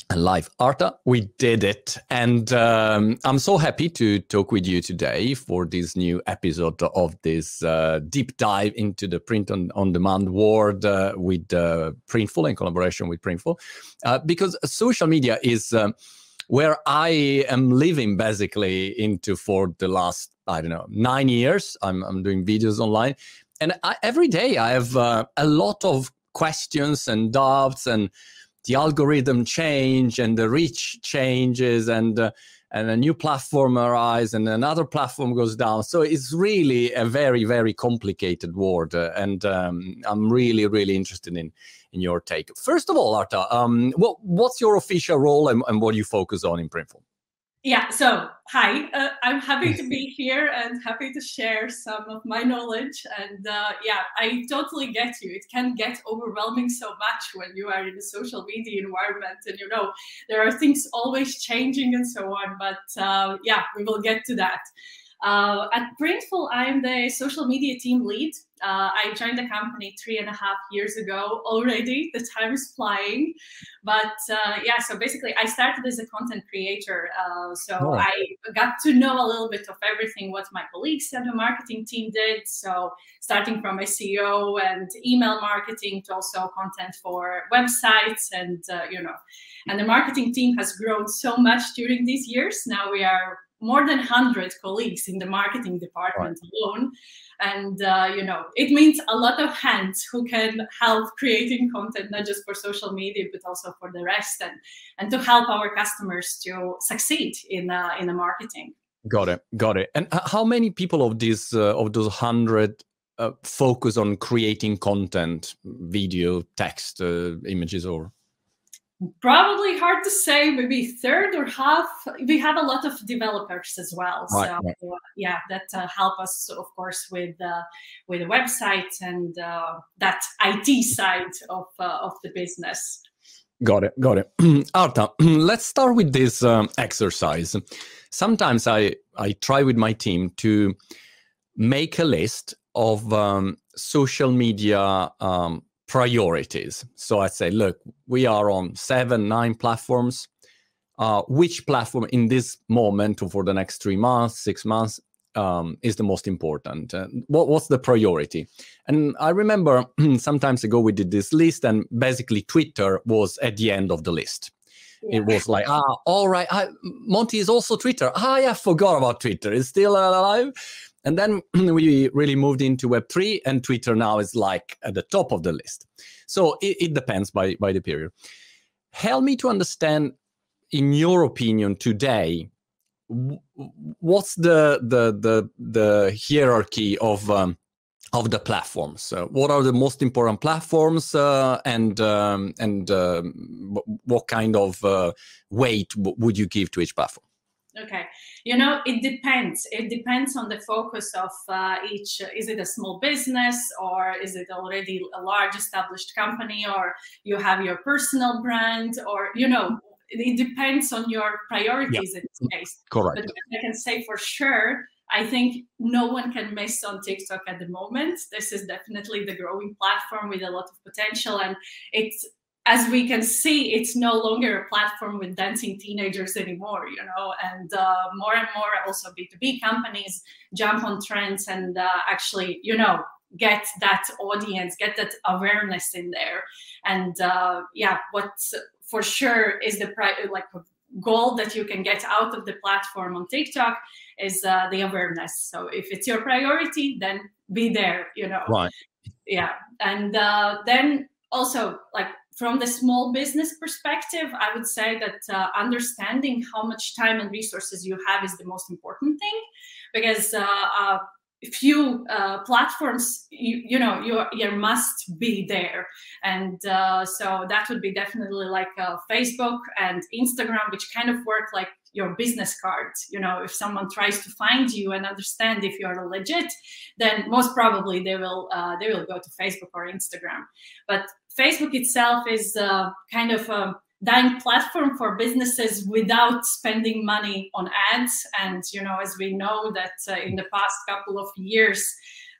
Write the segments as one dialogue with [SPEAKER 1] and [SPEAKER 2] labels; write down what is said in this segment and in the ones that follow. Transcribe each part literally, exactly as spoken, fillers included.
[SPEAKER 1] and live. Arta, we did it. And um, I'm so happy to talk with you today for this new episode of this uh, deep dive into the print on, on demand world uh, with uh, Printful, in collaboration with Printful, uh, because social media is um, where I am living basically into for the last, I don't know, nine years. I'm, I'm doing videos online. And I, every day I have uh, a lot of questions and doubts, and the algorithm change and the reach changes, and uh, and a new platform arises and another platform goes down. So it's really a very, very complicated world. Uh, and um, I'm really, really interested in, in your take. First of all, Arta, um, what, what's your official role and, and what do you focus on in Printful?
[SPEAKER 2] Yeah, so hi, uh, I'm happy to be here and happy to share some of my knowledge. And uh, yeah, I totally get you. It can get overwhelming so much when you are in a social media environment, and you know, there are things always changing and so on. But uh, yeah, we will get to that. Uh, at Printful, I'm the social media team lead. Uh, I joined the company three and a half years ago already. The time is flying. But uh, yeah, so basically I started as a content creator. Uh, so oh. I got to know a little bit of everything what my colleagues and the marketing team did. So starting from S E O and email marketing to also content for websites, and uh, you know, and the marketing team has grown so much during these years. Now we are more than one hundred colleagues in the marketing department right. alone. And, uh, you know, it means a lot of hands who can help creating content, not just for social media, but also for the rest, and, and to help our customers to succeed in, uh, in the marketing.
[SPEAKER 1] Got it. Got it. And how many people of these, uh, of those hundred uh, focus on creating content, video, text, uh, images, or?
[SPEAKER 2] Probably hard to say, maybe third or half. We have a lot of developers as well. Right, so right. Uh, yeah, that uh, help us, of course, with uh, with the website and uh, that I T side of uh, of the business.
[SPEAKER 1] Got it, got it. Arta, let's start with this um, exercise. Sometimes I, I try with my team to make a list of um, social media um, priorities. So I say, look, we are on seven, nine platforms. Uh, which platform in this moment or for the next three months, six months um, is the most important? Uh, what, what's the priority? And I remember some time ago we did this list, and basically Twitter was at the end of the list. Yeah. It was like, ah, all right, I, Monty is also Twitter. Ah, yeah, I forgot about Twitter. It's still alive. And then we really moved into Web three, and Twitter now is like at the top of the list. So it, it depends by, by the period. Help me to understand, in your opinion today, what's the the the, the hierarchy of um, of the platforms? Uh, what are the most important platforms, uh, and um, and uh, what kind of uh, weight w- would you give to each platform?
[SPEAKER 2] Okay, you know, it depends. It depends on the focus of uh, each. Is it a small business, or is it already a large established company, or you have your personal brand, or, you know, it depends on your priorities yeah. in this case.
[SPEAKER 1] Correct.
[SPEAKER 2] But I can say for sure, I think no one can miss on TikTok at the moment. This is definitely the growing platform with a lot of potential, and it's, as we can see, it's no longer a platform with dancing teenagers anymore, you know, and uh, more and more also B two B companies jump on trends and uh, actually, you know, get that audience, get that awareness in there. And uh, yeah, what for sure is the pri- like goal that you can get out of the platform on TikTok is uh, the awareness. So if it's your priority, then be there, you know.
[SPEAKER 1] Right.
[SPEAKER 2] Yeah. And uh, then also, like, from the small business perspective, I would say that uh, understanding how much time and resources you have is the most important thing, because uh, uh, few uh, platforms, you, you know, you you must be there, and uh, so that would be definitely like uh, Facebook and Instagram, which kind of work like your business cards. You know, if someone tries to find you and understand if you are legit, then most probably they will uh, they will go to Facebook or Instagram. But Facebook itself is uh, kind of a dying platform for businesses without spending money on ads. And, you know, as we know that uh, in the past couple of years,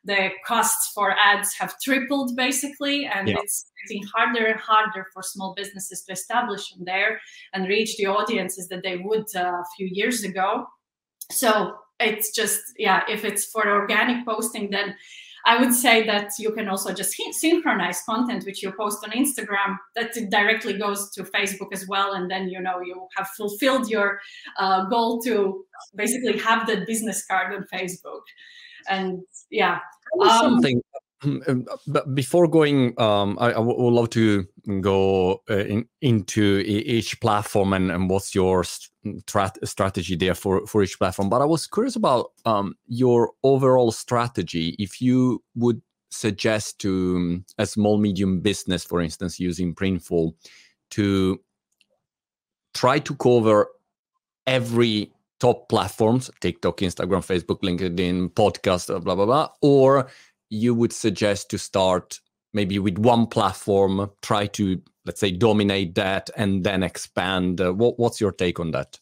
[SPEAKER 2] the costs for ads have tripled basically, and yeah. it's getting harder and harder for small businesses to establish on there and reach the audiences that they would uh, a few years ago. So it's just, yeah, if it's for organic posting, then I would say that you can also just synchronize content which you post on Instagram, that it directly goes to Facebook as well. And then, you know, you have fulfilled your uh, goal to basically have that business card on Facebook. And yeah.
[SPEAKER 1] Um, something, but before going, um, I, I would love to go uh, in, into each platform and, and what's your strat strategy there for, for each platform. But I was curious about um, your overall strategy. If you would suggest to a small, medium business, for instance, using Printful, to try to cover every top platforms, TikTok, Instagram, Facebook, LinkedIn, podcast, blah, blah, blah, or you would suggest to start maybe with one platform, try to, let's say, dominate that and then expand. Uh, what, what's your take on that?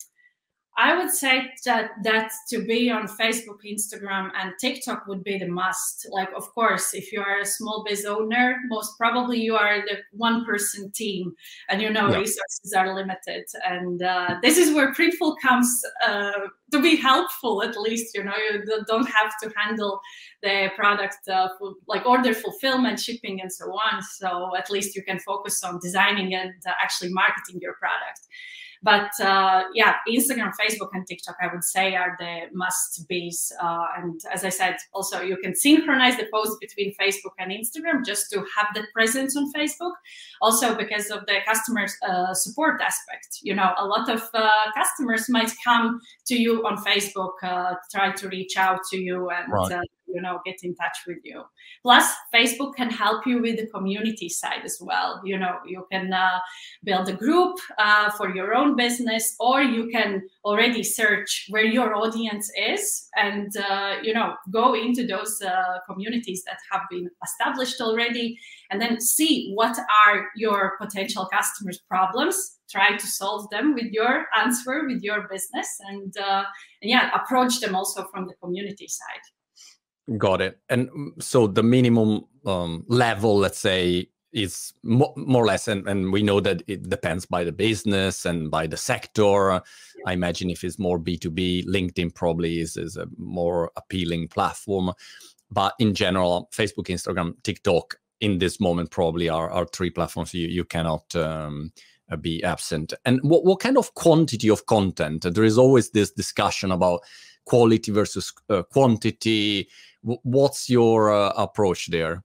[SPEAKER 2] I would say that that to be on Facebook, Instagram, and TikTok would be the must. Like, of course, if you are a small biz owner, most probably you are the one-person team, and you know yeah. resources are limited. And uh, this is where Printful comes uh, to be helpful. At least, you know, you don't have to handle the product uh, for, like order fulfillment, shipping, and so on. So at least you can focus on designing and uh, actually marketing your product. But uh, yeah, Instagram, Facebook, and TikTok, I would say, are the must-be's. Uh, and as I said, also you can synchronize the posts between Facebook and Instagram just to have that presence on Facebook. Also because of the customer uh, support aspect. You know, a lot of uh, customers might come to you on Facebook, uh, try to reach out to you and right. uh, you know, get in touch with you. Plus, Facebook can help you with the community side as well. You know, you can uh, build a group uh, for your own business, or you can already search where your audience is and, uh, you know, go into those uh, communities that have been established already, and then see what are your potential customers' problems, try to solve them with your answer, with your business, and, uh, and yeah, approach them also from the community side.
[SPEAKER 1] Got it. And so the minimum um, level, let's say, is mo more or less, and, and we know that it depends by the business and by the sector. Yeah. I imagine if it's more B two B, LinkedIn probably is, is a more appealing platform. But in general, Facebook, Instagram, TikTok in this moment probably are, are three platforms you, you cannot um, be absent. And what, what kind of quantity of content? There is always this discussion about quality versus uh, quantity. What's your uh, approach there?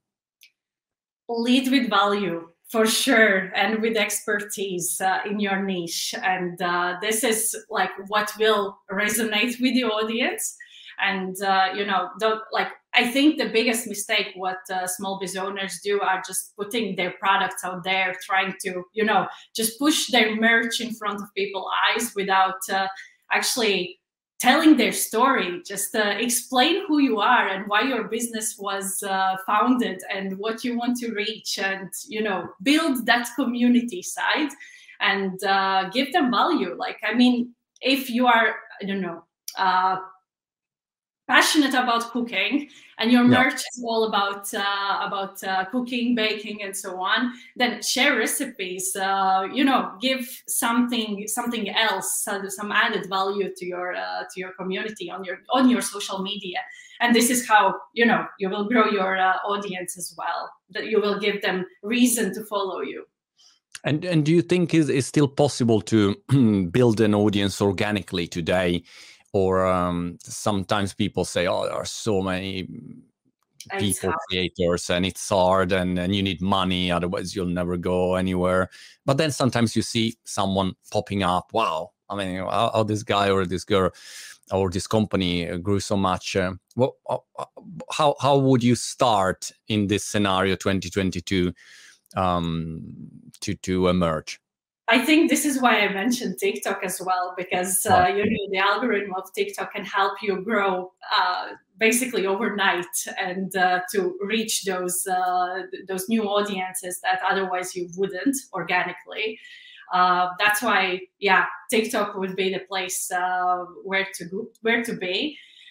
[SPEAKER 2] Lead with value, for sure, and with expertise uh, in your niche. And uh, this is like what will resonate with the audience. And, uh, you know, don't, like, I think the biggest mistake what uh, small business owners do are just putting their products out there, trying to, you know, just push their merch in front of people's eyes without uh, actually telling their story. Just uh, explain who you are and why your business was uh, founded and what you want to reach, and, you know, build that community side and uh, give them value. Like, I mean, if you are, I don't know, uh, passionate about cooking and your merch yeah. is all about uh, about uh, cooking, baking, and so on, then share recipes. Uh, you know, give something something else, uh, some added value to your uh, to your community on your on your social media. And this is how, you know, you will grow your uh, audience as well. That you will give them reason to follow you.
[SPEAKER 1] And and do you think is is still possible to build an audience organically today? Or um, sometimes people say, oh, there are so many people, creators, and it's hard, and, and you need money, otherwise you'll never go anywhere. But then sometimes you see someone popping up. Wow, I mean, how, how this guy or this girl or this company grew so much. Uh, well, how, how would you start in this scenario twenty twenty-two um, to, to emerge?
[SPEAKER 2] I think this is why I mentioned TikTok as well, because uh, you know, the algorithm of TikTok can help you grow uh, basically overnight and uh, to reach those uh, those new audiences that otherwise you wouldn't organically. Uh, that's why, yeah, TikTok would be the place uh, where to go, where to be.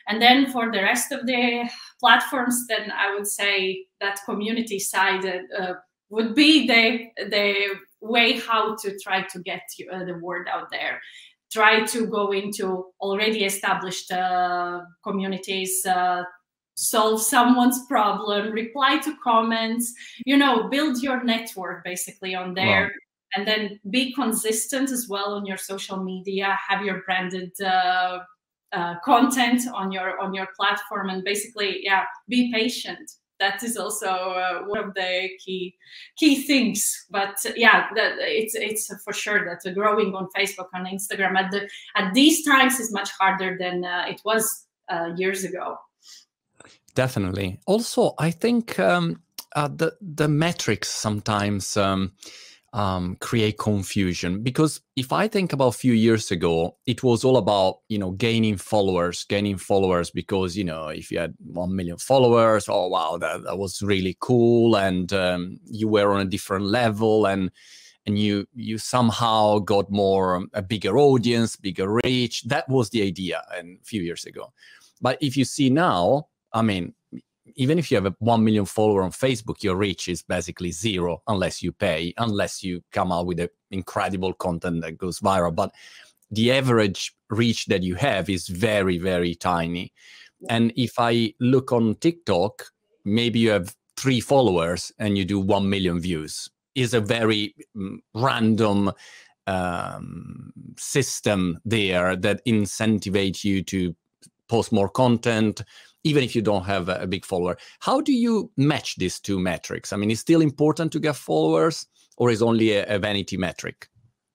[SPEAKER 2] And then for the rest of the platforms, then I would say that community side uh, would be the the way how to try to get uh, the word out there. Try to go into already established uh, communities, uh, solve someone's problem, reply to comments, you know, build your network basically on there. Wow. And then be consistent as well on your social media, have your branded uh, uh, content on your on your platform, and basically, yeah, be patient. That is also uh, one of the key key things. But uh, yeah, that, it's it's for sure that uh, growing on Facebook and Instagram at the at these times is much harder than uh, it was uh, years ago.
[SPEAKER 1] Definitely. Also, I think um, uh, the the metrics sometimes um, um, create confusion, because if I think about a few years ago, it was all about, you know, gaining followers, gaining followers, because, you know, if you had one million followers, oh wow, that, that was really cool, and um, you were on a different level, and and you you somehow got more a bigger audience, bigger reach. That was the idea, and a few years ago. But if you see now, I mean, even if you have a one million follower on Facebook, your reach is basically zero unless you pay, unless you come out with a incredible content that goes viral. But the average reach that you have is very, very tiny. And if I look on TikTok, maybe you have three followers and you do one million views. Is a very um, random um, system there that incentivizes you to post more content, even if you don't have a, a big follower. How do you match these two metrics? I mean, is it still important to get followers, or is only a, a vanity metric?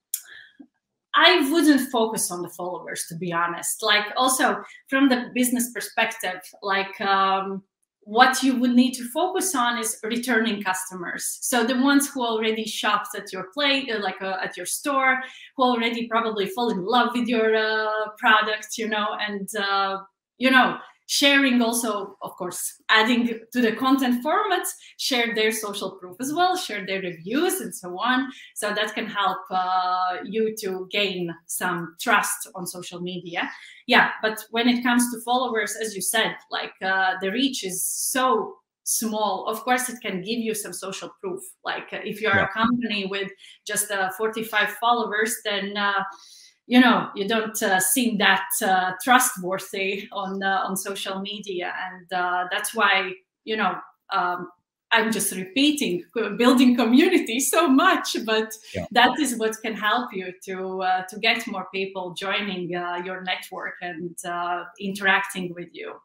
[SPEAKER 2] I wouldn't focus on the followers, to be honest. Like, also from the business perspective, like um, what you would need to focus on is returning customers. So the ones who already shopped at your play, uh, like uh, at your store, who already probably fall in love with your uh, product, you know, and uh, you know, sharing also, of course, adding to the content formats, share their social proof as well, share their reviews and so on. So that can help uh, you to gain some trust on social media. Yeah, but when it comes to followers, as you said, like uh, the reach is so small. Of course, it can give you some social proof. Like uh, if you're yeah. a company with just uh, forty-five followers, then uh, you know, you don't uh, seem that uh, trustworthy on uh, on social media, and uh, that's why, you know, um, I'm just repeating, building community so much, but yeah. that is what can help you to uh, to get more people joining uh, your network and uh, interacting with you.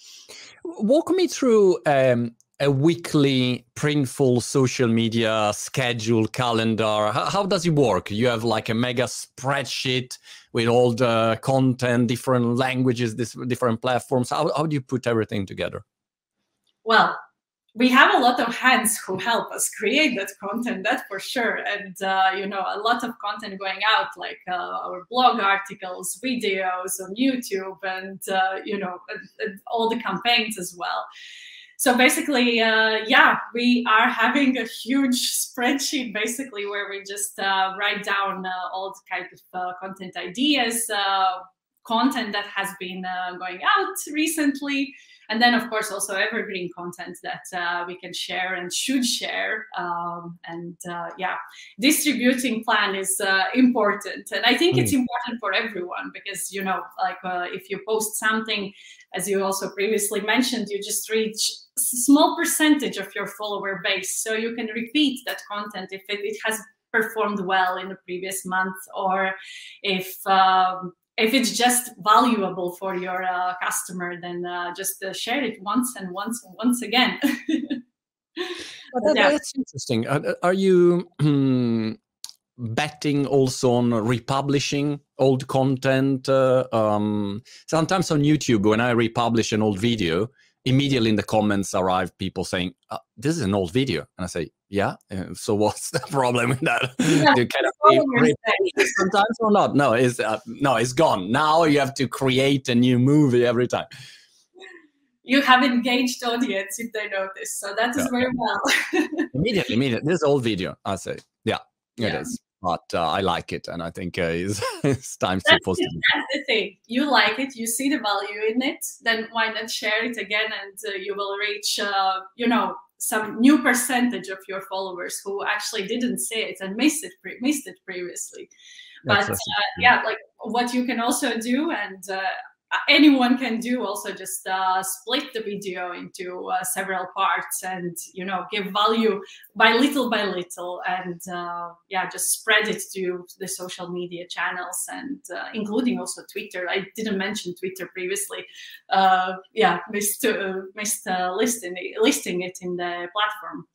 [SPEAKER 1] Walk me through um, a weekly printful social media schedule, calendar. How, how does it work? You have like a mega spreadsheet with all the content, different languages, this, different platforms. How, how do you put everything together?
[SPEAKER 2] Well, we have a lot of hands who help us create that content, that for sure. And, uh, you know, a lot of content going out, like uh, our blog articles, videos on YouTube, and, uh, you know, and, and all the campaigns as well. So basically, uh, yeah, we are having a huge spreadsheet, basically, where we just uh, write down uh, all the kind of uh, content ideas, uh, content that has been uh, going out recently. And then, of course, also evergreen content that uh, we can share and should share. Um, and uh, yeah, distributing plan is uh, important. And I think mm. it's important for everyone because, you know, like uh, if you post something, as you also previously mentioned, you just reach a small percentage of your follower base. So you can repeat that content if it, it has performed well in the previous month, or if um, if it's just valuable for your uh, customer, then uh, just uh, share it once and once and once again.
[SPEAKER 1] Well, that, yeah. That's interesting. Are, are you um, betting also on republishing old content? Uh, um, sometimes on YouTube, when I republish an old video, immediately in the comments arrive people saying, oh, this is an old video. And I say, yeah, uh, so what's the problem with that?
[SPEAKER 2] Yeah,
[SPEAKER 1] you kind of sometimes or not? No, it's, uh, no, it's gone. Now you have to create a new movie every time.
[SPEAKER 2] You have engaged audience if they notice. So that is yeah. very well.
[SPEAKER 1] immediately, immediately. This old video, I say, yeah, it
[SPEAKER 2] yeah.
[SPEAKER 1] is. but uh, I like it, and I think uh, it's, it's time to
[SPEAKER 2] That's,
[SPEAKER 1] post
[SPEAKER 2] it,
[SPEAKER 1] it.
[SPEAKER 2] that's the thing. You like it, you see the value in it, then why not share it again, and uh, you will reach, uh, you know, some new percentage of your followers who actually didn't see it and missed it, pre- missed it previously. But uh, yeah, like what you can also do, and uh, anyone can do, also just uh, split the video into uh, several parts, and you know, give value by little by little, and uh, yeah, just spread it to the social media channels, and uh, including also Twitter. I didn't mention Twitter previously. Uh, yeah, missed uh, missed uh, listing listing it in the platform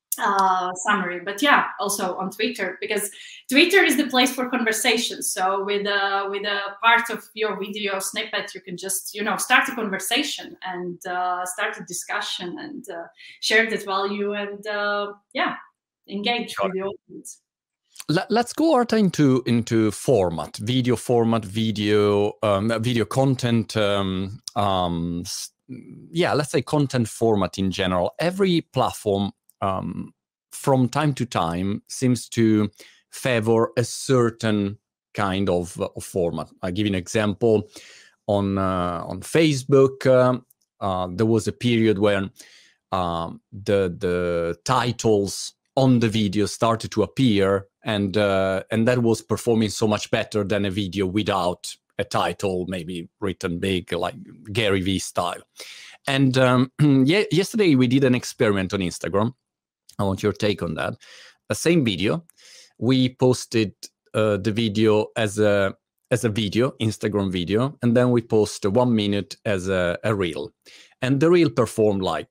[SPEAKER 2] uh summary. But yeah, also on Twitter, because Twitter is the place for conversations. So with uh with a part of your video snippet, you can just, you know, start a conversation and uh start a discussion and uh, share that value, and uh yeah, engage with the audience.
[SPEAKER 1] Let's go, Arta, into into format, video format, video um, video content. Um, um, yeah, let's say content format in general. Every platform, um, from time to time, seems to favor a certain kind of, of format. I'll give you an example. On uh, on Facebook, uh, uh, there was a period when um, the the titles on the video started to appear, and uh, and that was performing so much better than a video without a title, maybe written big, like Gary Vee style. And um, yeah, yesterday we did an experiment on Instagram. I want your take on that. The same video, we posted uh, the video as a as a video, Instagram video, and then we post one minute as a, a reel, and the reel performed like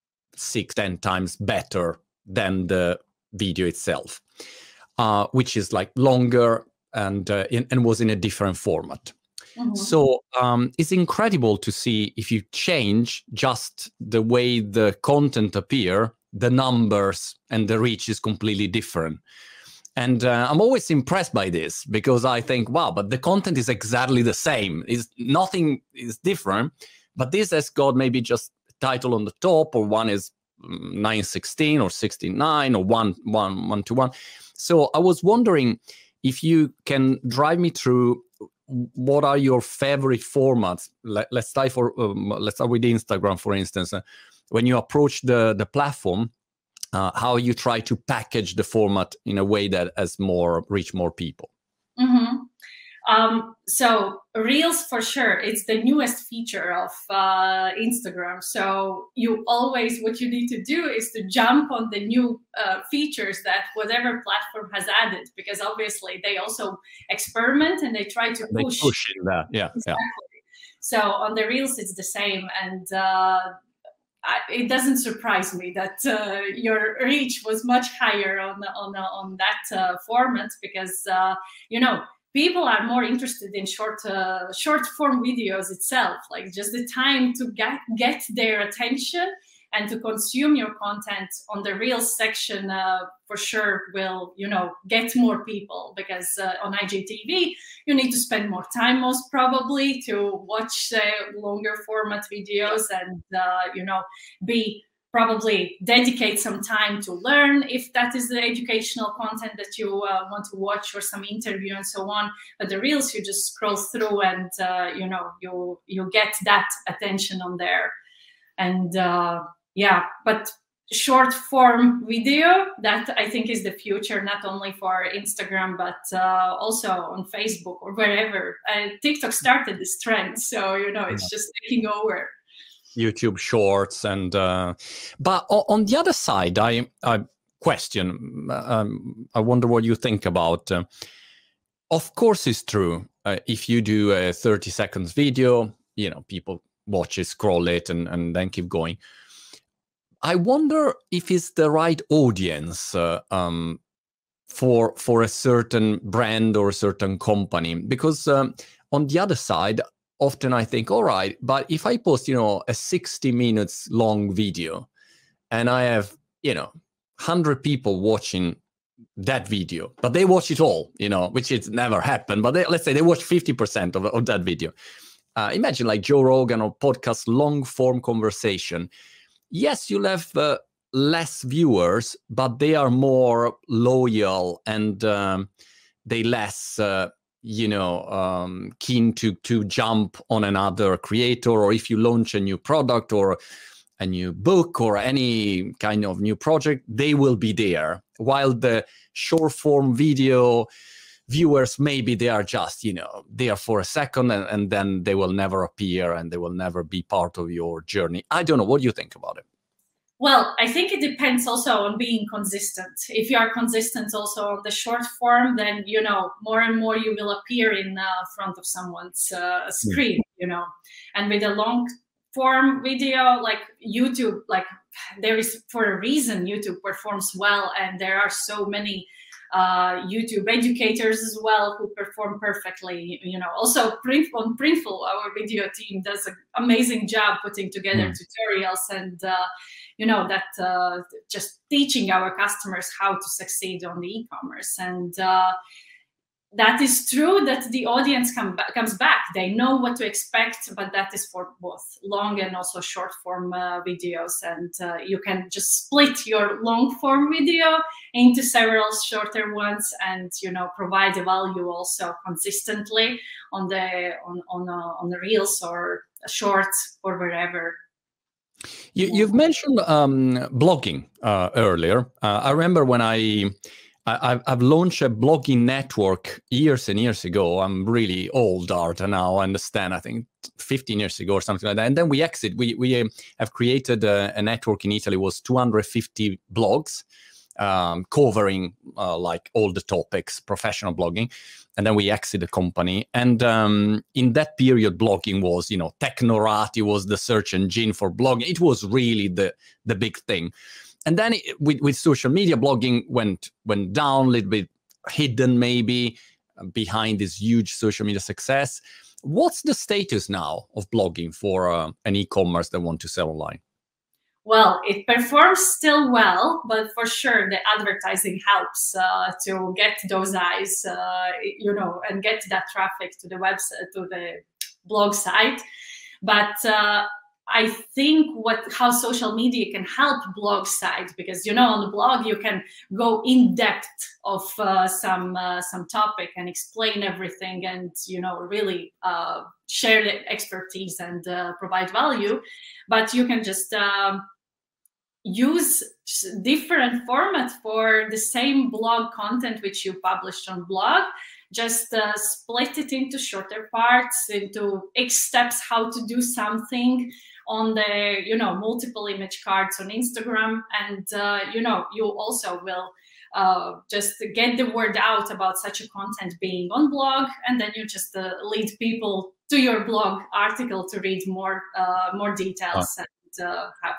[SPEAKER 1] six, ten times better than the video itself, uh, which is like longer and uh, in, and was in a different format. Mm-hmm. So um, it's incredible to see if you change just the way the content appear, the numbers and the reach is completely different. And uh, I'm always impressed by this, because I think, wow, but the content is exactly the same. Is nothing is different, but this has got maybe just a title on the top, or one is nine sixteen or sixty-nine or one one one to one. So I was wondering if you can drive me through what are your favorite formats. Let, let's start for um, let's start with Instagram, for instance. Uh, when you approach the the platform, uh, how you try to package the format in a way that has more reach more people.
[SPEAKER 2] Mm-hmm. Um, so Reels, for sure, it's the newest feature of uh, Instagram. So you always, what you need to do is to jump on the new uh, features that whatever platform has added, because obviously they also experiment and they try to
[SPEAKER 1] they
[SPEAKER 2] push.
[SPEAKER 1] push in that, yeah,
[SPEAKER 2] exactly.
[SPEAKER 1] Yeah.
[SPEAKER 2] So on the Reels, it's the same, and uh, I, it doesn't surprise me that uh, your reach was much higher on on on that uh, format, because uh, you know. People are more interested in short, uh, short form videos itself, like just the time to get, get their attention and to consume your content on the Reels section uh, for sure will, you know, get more people, because uh, on I G T V, you need to spend more time most probably to watch uh, longer format videos and, uh, you know, be probably dedicate some time to learn if that is the educational content that you uh, want to watch, or some interview and so on. But the Reels, you just scroll through and uh, you know, you you get that attention on there. And uh, yeah, but short form video, that I think is the future, not only for Instagram, but uh, also on Facebook or wherever. Uh, TikTok started this trend, so you know, it's just taking over.
[SPEAKER 1] YouTube Shorts, and uh, but on the other side, I, I question. Um, I wonder what you think about. Uh, of course, it's true. Uh, if you do a thirty seconds video, you know, people watch it, scroll it, and and then keep going. I wonder if it's the right audience uh, um, for for a certain brand or a certain company, because um, on the other side, often I think, all right, but if I post, you know, a sixty minutes long video and I have, you know, one hundred people watching that video, but they watch it all, you know, which it's never happened, but they, let's say they watch fifty percent of, of that video. Uh, imagine like Joe Rogan or podcast, long form conversation. Yes, you'll have uh, less viewers, but they are more loyal and um, they less uh, you know um, keen to to jump on another creator, or if you launch a new product or a new book or any kind of new project, they will be there. While the short form video viewers, maybe they are just, you know, there for a second and, and then they will never appear and they will never be part of your journey. I don't know. What do you think about it?
[SPEAKER 2] Well, I think it depends also on being consistent. If you are consistent also on the short form, then, you know, more and more you will appear in uh, front of someone's uh, screen, you know. And with a long form video, like YouTube, like there is, for a reason, YouTube performs well, and there are so many uh, YouTube educators as well who perform perfectly. You know, also Print, on Printful, our video team does an amazing job putting together mm. tutorials and uh, you know, that uh, just teaching our customers how to succeed on the e-commerce. And uh, that is true that the audience come ba- comes back. They know what to expect, but that is for both long and also short form uh, videos. And uh, you can just split your long form video into several shorter ones, and, you know, provide the value also consistently on the on on uh, on the reels or shorts or wherever.
[SPEAKER 1] You, you've mentioned um, blogging uh, earlier. Uh, I remember when I, I I've launched a blogging network years and years ago. I'm really old, Arta, now. I understand. I think fifteen years ago or something like that. And then we exit. We we have created a, a network in Italy. It was two hundred fifty blogs um, covering uh, like all the topics, professional blogging. And then we exit the company. And um, in that period, blogging was, you know, Technorati was the search engine for blogging. It was really the the big thing. And then it, with, with social media, blogging went went down a little bit, hidden maybe behind this huge social media success. What's the status now of blogging for uh, an e-commerce that want to sell online?
[SPEAKER 2] Well, it performs still well, but for sure the advertising helps uh, to get those eyes, uh, you know, and get that traffic to the website, to the blog site. But uh, I think what how social media can help blog site, because, you know, on the blog you can go in depth of uh, some uh, some topic and explain everything, and, you know, really uh, share the expertise and uh, provide value. But you can just um, use different format for the same blog content which you published on blog. Just uh, split it into shorter parts, into X steps how to do something on the, you know, multiple image cards on Instagram. And, uh, you know, you also will uh, just get the word out about such a content being on blog. And then you just uh, lead people to your blog article to read more, uh, more details oh. and uh, have.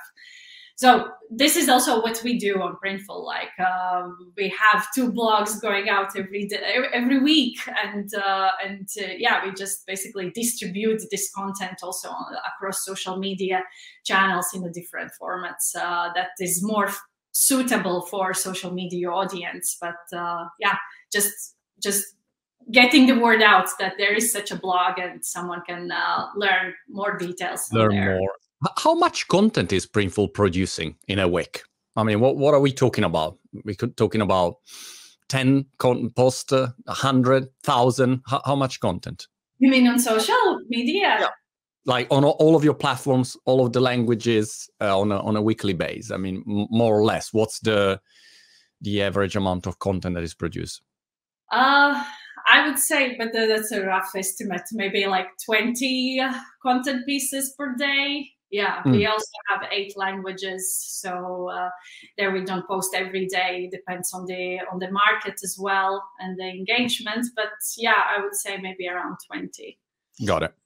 [SPEAKER 2] So this is also what we do on Printful. Like um, we have two blogs going out every day, every week, and uh, and uh, yeah, we just basically distribute this content also on, across social media channels in the different formats uh, that is more f- suitable for social media audience. But uh, yeah, just just getting the word out that there is such a blog and someone can uh, learn more details.
[SPEAKER 1] Learn
[SPEAKER 2] there.
[SPEAKER 1] more. How much content is Printful producing in a week? I mean, what, what are we talking about? We're talking about ten content posts, a hundred, thousand. How, how much content?
[SPEAKER 2] You mean on social media?
[SPEAKER 1] Yeah. Like on all of your platforms, all of the languages uh, on a on a weekly basis. I mean, m- more or less. What's the the average amount of content that is produced?
[SPEAKER 2] Uh, I would say, but that's a rough estimate. Maybe like twenty content pieces per day. Yeah, mm. we also have eight languages, so uh, there we don't post every day. It depends on the on the market as well and the engagement. But yeah, I would say maybe around twenty.
[SPEAKER 1] Got it.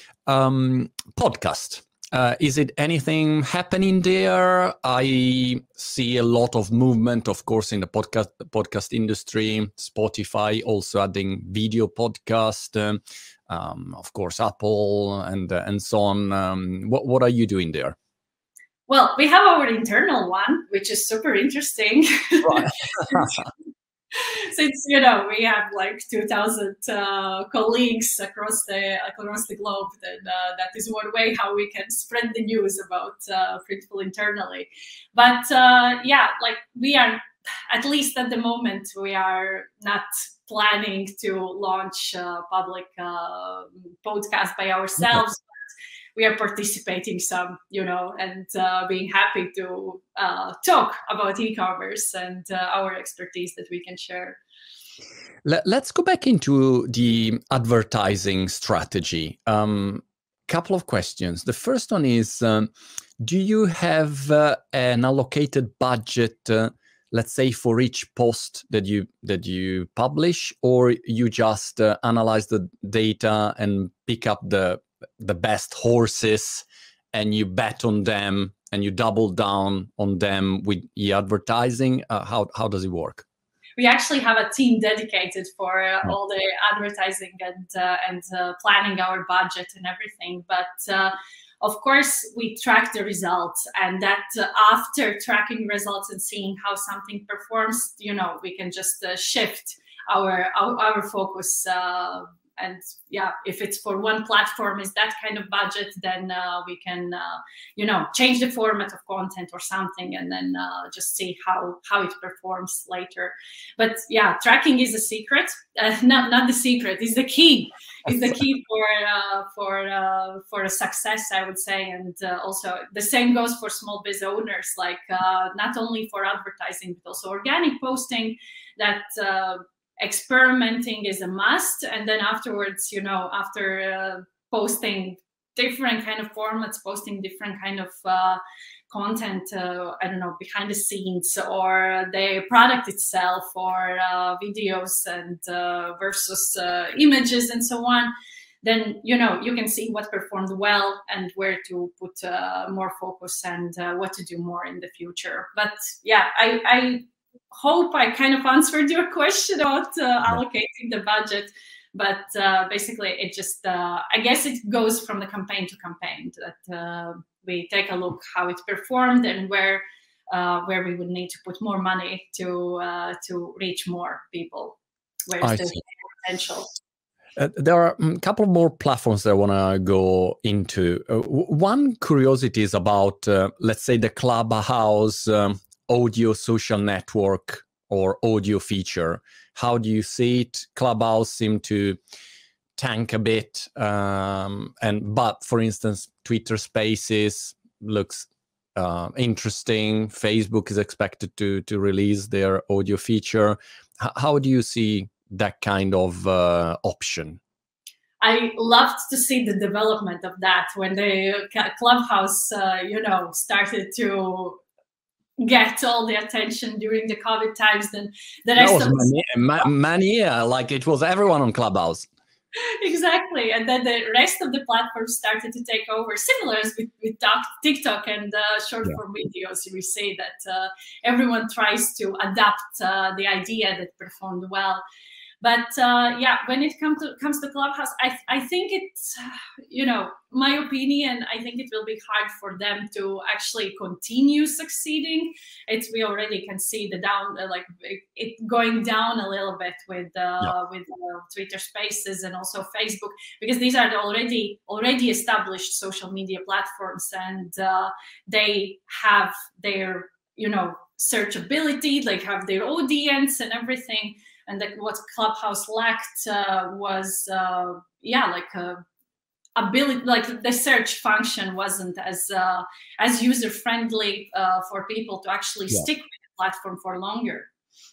[SPEAKER 1] Um, podcast. Uh, is it anything happening there? I see a lot of movement, of course, in the podcast podcast industry. Spotify also adding video podcast. Um, um, of course, Apple and uh, and so on. Um, what what are you doing there?
[SPEAKER 2] Well, we have our internal one, which is super interesting.
[SPEAKER 1] Right.
[SPEAKER 2] Since, you know, we have like two thousand uh, colleagues across the across the globe, then uh, that is one way how we can spread the news about uh, Printful internally. But uh, yeah, like we are at least at the moment, we are not planning to launch a public uh, podcast by ourselves.
[SPEAKER 1] Okay.
[SPEAKER 2] We are participating some, you know, and uh, being happy to uh, talk about e-commerce and uh, our expertise that we can share.
[SPEAKER 1] Let's go back into the advertising strategy. Um, couple of questions. The first one is, um, do you have uh, an allocated budget, uh, let's say, for each post that you that you publish, or you just uh, analyze the data and pick up the the best horses and you bet on them and you double down on them with e-advertising? Uh, how how does it work?
[SPEAKER 2] We actually have a team dedicated for uh, all the advertising and uh, and uh, planning our budget and everything. But uh, of course, we track the results, and that uh, after tracking results and seeing how something performs, you know, we can just uh, shift our our, our focus. Uh, and yeah, if it's for one platform is that kind of budget, then uh, we can, uh, you know, change the format of content or something, and then uh, just see how how it performs later. But yeah, tracking is a secret. Uh, not not the secret. Is the key. Is the key for uh, for uh, for a success, I would say. And uh, also the same goes for small biz owners. Like uh, not only for advertising, but also organic posting. That. Uh, experimenting is a must, and then afterwards, you know, after uh, posting different kind of formats, posting different kind of uh, content, uh, I don't know, behind the scenes or the product itself, or uh, videos and uh, versus uh, images and so on, then, you know, you can see what performed well and where to put uh, more focus and uh, what to do more in the future. But yeah, I, I hope I kind of answered your question about uh, allocating the budget, but uh, basically it just, uh, I guess it goes from the campaign to campaign, that uh, we take a look how it performed and where uh, where we would need to put more money to uh, to reach more people, where's the potential.
[SPEAKER 1] Uh, there are a couple more platforms that I want to go into. Uh, one curiosity is about, uh, let's say, the Clubhouse um, audio social network or audio feature. How do you see it? Clubhouse seemed to tank a bit, um, and but for instance, Twitter Spaces looks uh, interesting. Facebook is expected to to release their audio feature. H- how do you see that kind of uh, option?
[SPEAKER 2] I loved to see the development of that when the Clubhouse, uh, you know, started to get all the attention during the COVID times. Then the rest
[SPEAKER 1] that was
[SPEAKER 2] of
[SPEAKER 1] mania, ma- mania, like it was everyone on Clubhouse.
[SPEAKER 2] Exactly, and then the rest of the platforms started to take over, similar as with, with TikTok and uh, short form yeah. videos. We say that uh, everyone tries to adapt uh, the idea that performed well. But uh, yeah, when it comes to comes to Clubhouse, I I think it's, you know, my opinion, I think it will be hard for them to actually continue succeeding. It's, we already can see the down, uh, like it, it going down a little bit with uh, yeah. with uh, Twitter Spaces and also Facebook, because these are the already already established social media platforms, and uh, they have their, you know, searchability, they have their audience and everything. And that what Clubhouse lacked uh, was, uh, yeah, like a ability, like the search function wasn't as uh, as user friendly uh, for people to actually yeah. stick with the platform for longer.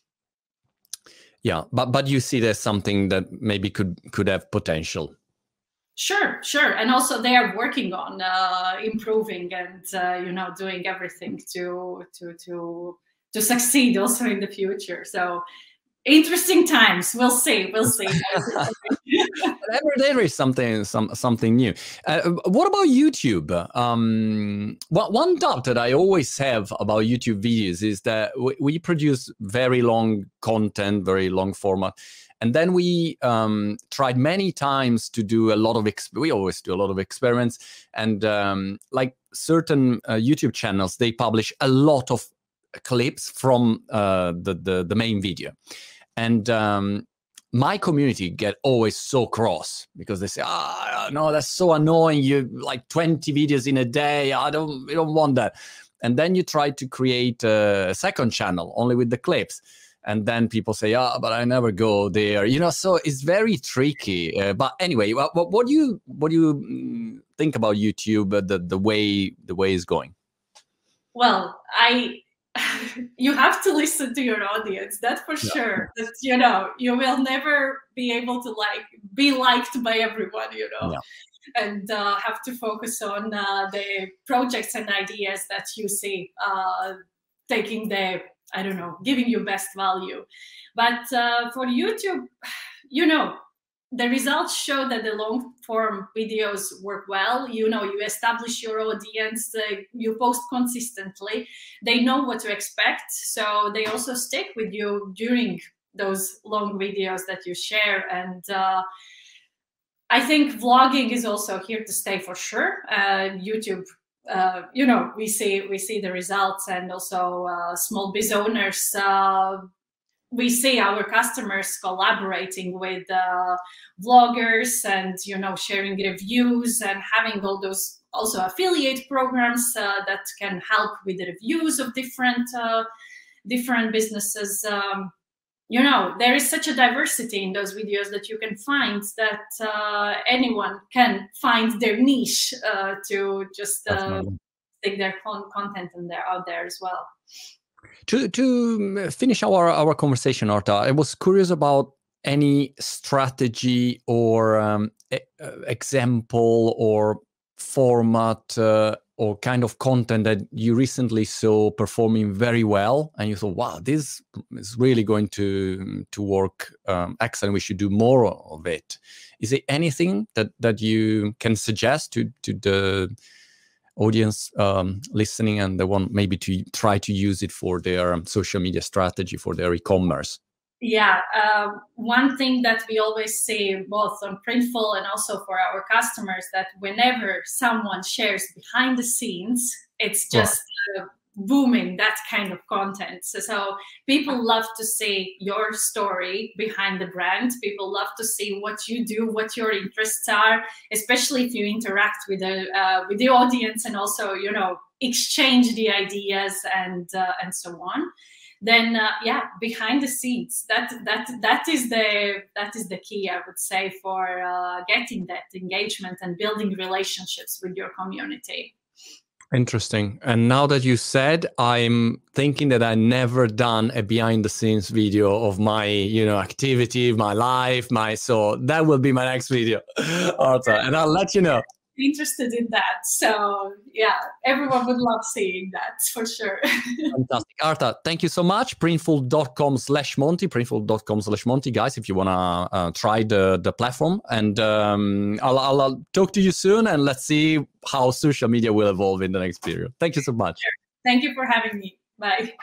[SPEAKER 1] Yeah, but but you see there's something that maybe could could have potential.
[SPEAKER 2] Sure, sure, and also they are working on uh, improving and uh, you know, doing everything to to to to succeed also in the future. So. Interesting times. We'll see. We'll see.
[SPEAKER 1] Every day there is something, some something new. Uh, what about YouTube? Um, well, one doubt that I always have about YouTube videos is that we, we produce very long content, very long format, and then we um, tried many times to do a lot of. Exp- we always do a lot of experiments, and um, like certain uh, YouTube channels, they publish a lot of clips from uh, the, the the main video. And um, my community get always so cross because they say, ah, no, that's so annoying. You like twenty videos in a day. I don't, we don't want that. and then you try to create a second channel only with the clips. And then people say, "Ah, oh, but I never go there," you know. So it's very tricky. Uh, but anyway, what, what do you what do you think about YouTube? Uh, the the way the way is going.
[SPEAKER 2] Well, I you have to listen to your audience. That's for yeah. sure. That, you know, you will never be able to like be liked by everyone. You know. Yeah. And uh, have to focus on uh, the projects and ideas that you see uh, taking the, I don't know, giving you best value. But uh, for YouTube, you know, the results show that the long form videos work well. You know, you establish your audience, uh, you post consistently, they know what to expect. So they also stick with you during those long videos that you share. And uh, I think vlogging is also here to stay for sure. Uh, YouTube, uh, you know, we see we see the results, and also uh, small biz owners. Uh, we see our customers collaborating with uh, vloggers, and you know, sharing reviews and having all those also affiliate programs uh, that can help with the reviews of different uh, different businesses. Um, You know, there is such a diversity in those videos that you can find that uh, anyone can find their niche uh, to just uh, take their con content and they're out there as well.
[SPEAKER 1] To to finish our our conversation, Arta, I was curious about any strategy or um, e example or format uh, or kind of content that you recently saw performing very well, and you thought, wow, this is really going to to work um, excellent. We should do more of it. Is there anything that that you can suggest to to the audience um, listening, and they want maybe to try to use it for their social media strategy, for their e-commerce?
[SPEAKER 2] Yeah, uh, one thing that we always say both on Printful and also for our customers, that whenever someone shares behind the scenes, it's just right. uh, booming, that kind of content. So, so people love to see your story behind the brand. People love to see what you do, what your interests are, especially if you interact with the uh, with the audience and also, you know, exchange the ideas and uh, and so on. Then uh, yeah, behind the scenes, that that that is the that is the key, I would say, for uh, getting that engagement and building relationships with your community.
[SPEAKER 1] Interesting. And now that you said, I'm thinking that I never done a behind the scenes video of my, you know, activity, my life, my, so that will be my next video, Arta, and I'll let you know.
[SPEAKER 2] Interested in that. So yeah, everyone would love seeing that for sure.
[SPEAKER 1] Fantastic. Arta, thank you so much. Printful.com slash Monty, Printful.com slash Monty, guys, if you want to uh, try the, the platform. And um, I'll, I'll, I'll talk to you soon, and let's see how social media will evolve in the next period. Thank you so much.
[SPEAKER 2] Thank you for having me. Bye.